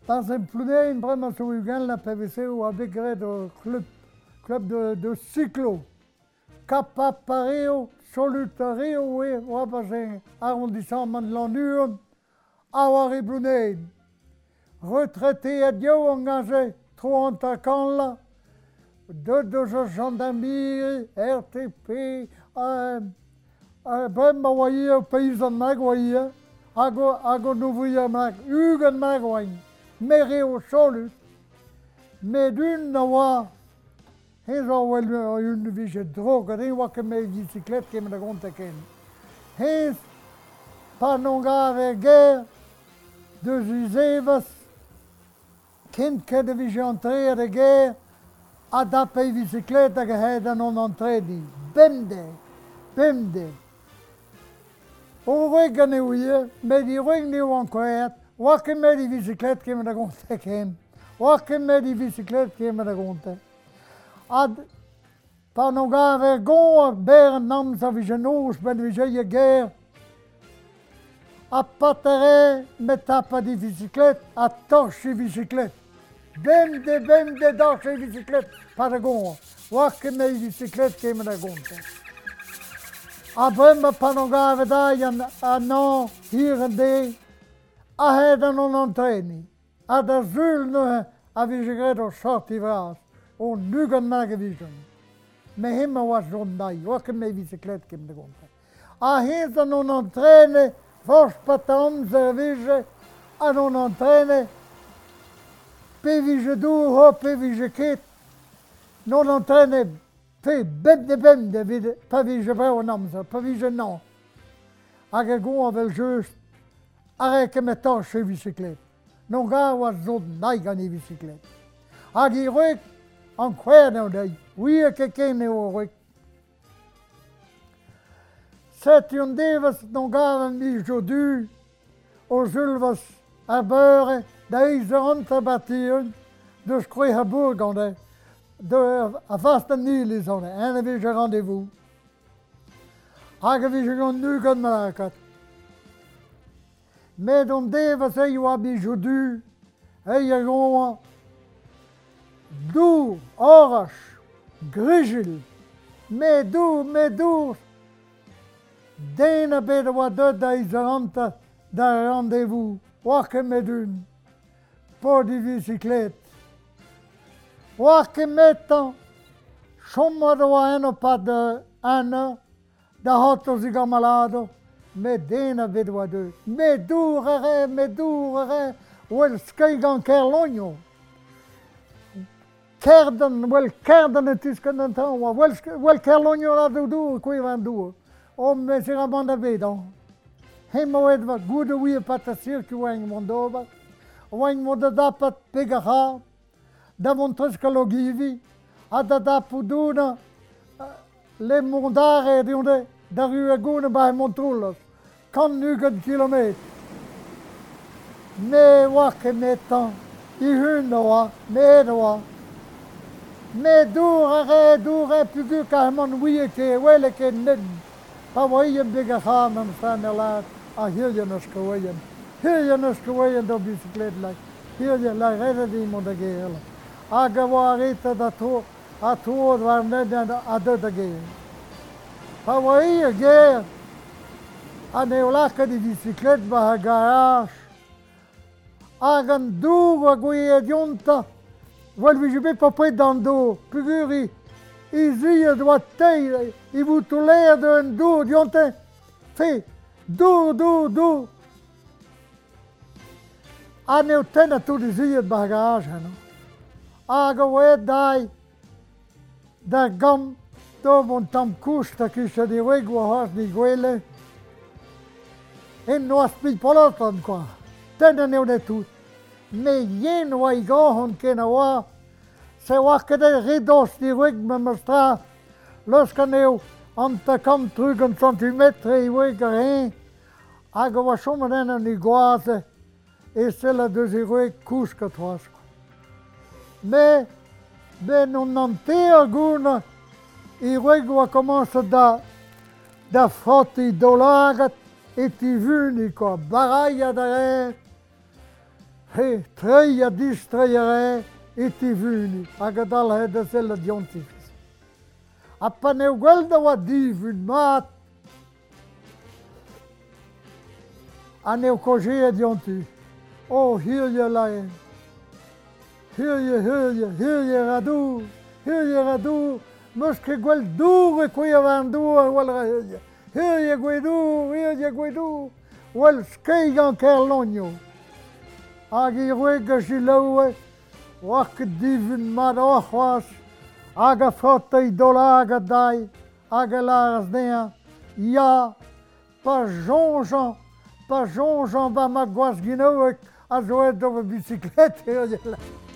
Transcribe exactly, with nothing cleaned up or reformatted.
Dans un plunet, vraiment sur Ugan, la P V C ou avec le club, club de, de cyclo. Capapario, solutario, oui, on va arrondissement de l'Ennure, Awari Brunet. Retraité à Dieu, engagé, trente ans là, deux de gendarmerie, R T P, euh, euh, ben, voyez, paysan mag, voyez, ago, ago, nouveau mag, Hugo mag, voyez. Mairie au solus, mais d'une noix, ils ont une vie de drogue, ils ont que mes bicyclettes qui me la comptent. Ils, par non grave guerre, de Zizevas, kind que de vie entrée à la guerre, à d'après bicyclette à gagner non entrée dit, bende, bende. Au regagne oui, mais di regagne encore. Welke met die bicyclette qui me la compte ken. Welke met die bicyclette qui me la compte. Ad par non gare gon ber nam sa vigenos ben vige guerre. A patere met tapa di bicyclette a torche bicyclette. Ben de ben de torche bicyclette par gon. Welke met die bicyclette qui me la compte. Après me par non gare da a non hier en de. A heden non entraîni. A da zulne a vigegredo sorti vras. O nugen magevisen. Me himme was zondai. Wakke me bicyclette kim de gonte. A heden non entraîne. Vos patam zervige. A non entraîne. Pe vige du ho pe vige ket. Non entraîne. Pe bende bende vide. Pa vige breu namza. Pa vige non. A gegon avel just. Arrête que maintenant chez bicyclette. Non gars was zo naigan die bicyclette. Agi ruk en kwer nou dai. Oui que ken ne ruk. C'est une devas non gars mi jodu. O zulvas a beurre dai zerante batiun. De skroe Hamburg on de. De a vaste nilis on de. En vi je rendez-vous. Agi vi je gon nu gan malakat. Mais dans des vases, il y a des joudus, et il y a des doux, orange, grigil, mais doux, mais doux. D'un peu de water d'Aïsarante, d'un rendez-vous, ouaque medune, pour des bicyclettes. Ouaque mettant, chôme de un pas de un, de hot ziga malado. Mais d'un peu de water. Mais dourere, mais dourere, wel skaigan kerlonio. Kerden, wel kerden het is kunnen doen, wel wel kerlonio la do do, kui van do. Om me se ramanda bedan. Hemo het wat goede wie patasir ki wang mondoba. Wang monda pat pegaha. Da montreska logivi. Ada da puduna. Le mondare di onde. Da rue gone bij Montrolles. Kan nu een kilometer. Me wakke metan. I hundoa. Me doa. Me doere, doere, pugu kahman wieke, weleke ned. Pa waien bigge gaan en staan er laat. A hiljenes geweien. Hiljenes geweien door bicyclette. Hilje la redden die moet de gele. A gewaarite dat ho. A toer waar net a de gele. Pa waien geer. A neolaka di bicyclette ba garage. Agan dour goeie dionta. Wel vi je be pas près dans do. Puguri. I zie doit tei. I vous toleer de un do dionta. Fe. Do do do. A neotena tu di zie ba garage no. Aga we dai. Da gam do mon tam kusta ki se di wego has di gwele. En no aspit polotan qua. Tena neu de tout. Mais yen wa i gohon kena wa. Se wakke de ridos di wig me mestra. Loska neu anta kam trug een centimetre i wig erheen. Aga wa somme den an i goase. E sella de zi wig kuska toasko. Mais ben non nantea guna. I wig wa commence da da frotti dolagat. E ti vuni qua, baraia de re. He, trei a distraiere e ti vuni, a gadal he da sella diontifis. A paneu gwelda wa divun mat, a neu kogea dionti. O, hier je laien. Hier je, hier je, hier je radu, hier je radu, muske gwel dure kuya van dure, wal hier je. Hier je gwedu, hier je gwedu, wal skeigan kerlonio. Agi ruega gilowe, wak divun mat ochwas, aga frotte idola aga dai, aga laras dea, ja, pa jonjan, pa jonjan ba ma gwas ginoek, a zo et over bicyclette.